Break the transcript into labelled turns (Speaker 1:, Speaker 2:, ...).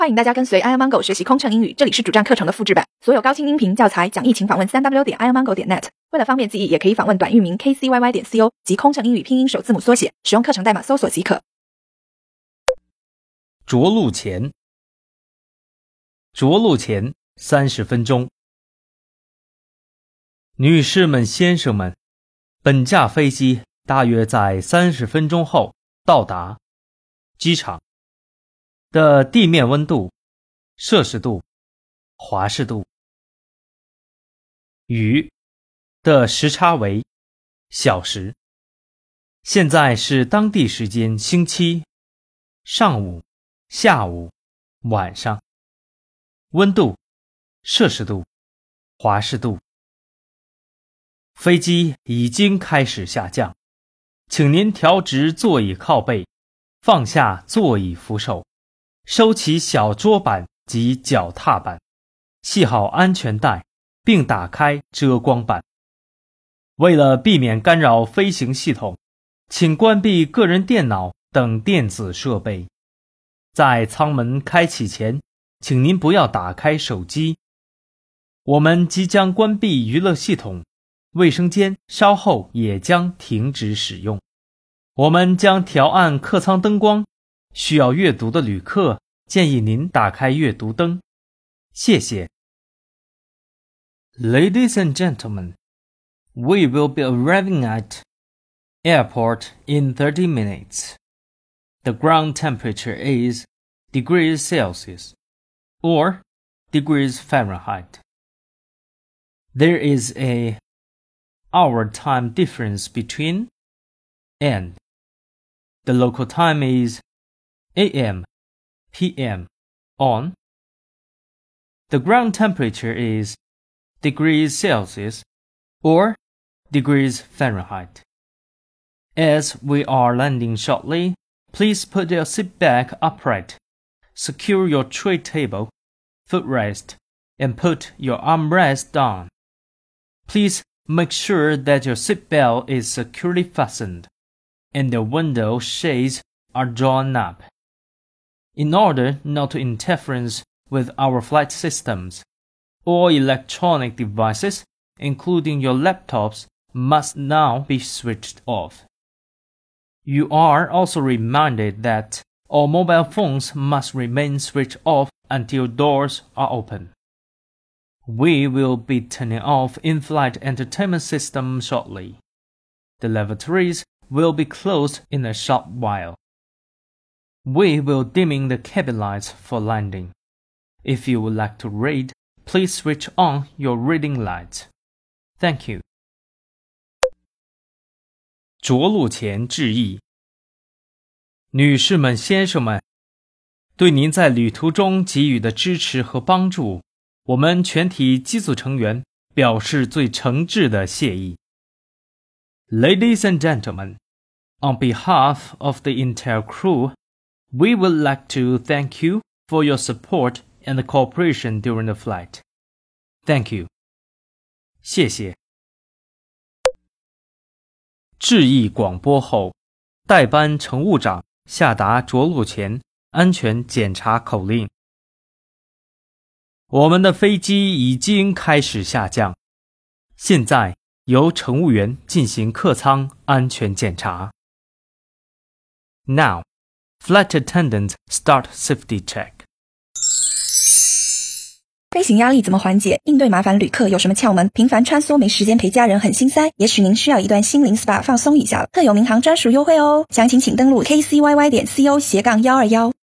Speaker 1: 欢迎大家跟随 iomongo 学习空乘英语，这里是主站课程的复制版，所有高清音频教材讲义请访问 3w.iomongo.net。为了方便记忆，也可以访问短域名 kcyy.co 及空乘英语拼音首字母缩写，使用课程代码搜索即可。
Speaker 2: 着陆前30分钟。女士们、先生们，本架飞机大约在30分钟后到达机场的地面温度、摄氏度、华氏度。与的时差为小时。现在是当地时间星期上午、下午、晚上。温度、摄氏度、华氏度。飞机已经开始下降，请您调直座椅靠背，放下座椅扶手，收起小桌板及脚踏板，系好安全带，并打开遮光板。为了避免干扰飞行系统，请关闭个人电脑等电子设备。在舱门开启前，请您不要打开手机。我们即将关闭娱乐系统，卫生间稍后也将停止使用。我们将调暗客舱灯光，需要阅读的旅客建议您打开阅读灯。谢谢。Ladies and gentlemen, we will be arriving at airport in 30 minutes. The ground temperature is degrees Celsius or degrees Fahrenheit. There is a hour time difference between and the local time is AM, PM, on. The ground temperature is degrees Celsius or degrees Fahrenheit. As we are landing shortly, please put your seat back upright, secure your tray table, footrest, and put your armrest down. Please make sure that your seatbelt is securely fastened and the window shades are drawn up. In order not to interference with our flight systems, all electronic devices, including your laptops, must now be switched off. You are also reminded that all mobile phones must remain switched off until doors are open. We will be turning off in-flight entertainment system shortly. The lavatories will be closed in a short while. We will dimming the cabin lights for landing. If you would like to read, please switch on your reading lights. Thank you. 着陆前致意。女士们、先生们，对您在旅途中给予的支持和帮助，我们全体机组成员表示最诚挚的谢意。Ladies and gentlemen, on behalf of the entire crew, we would like to thank you for your support and cooperation during the flight. Thank you. 谢谢。致意广播后，代班乘务长下达着陆前安全检查口令。我们的飞机已经开始下降，现在由乘务员进行客舱安全检查。Now, flight attendants start safety check.
Speaker 1: 飞行压力怎么缓解？应对麻烦旅客有什么窍门？频繁穿梭没时间陪家人很心塞，也许您需要一段心灵 SPA 放松一下了。特有民航专属优惠哦，详情请登录 kcyy.co/121